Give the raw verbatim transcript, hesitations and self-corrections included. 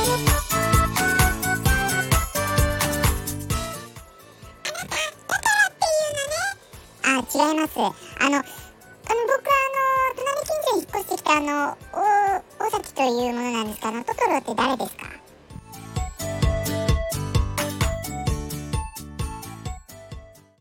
あ、違います。あの、あの僕はあの隣近所に引っ越してきたあの大大崎というものなんですが、あのトトロって誰ですか？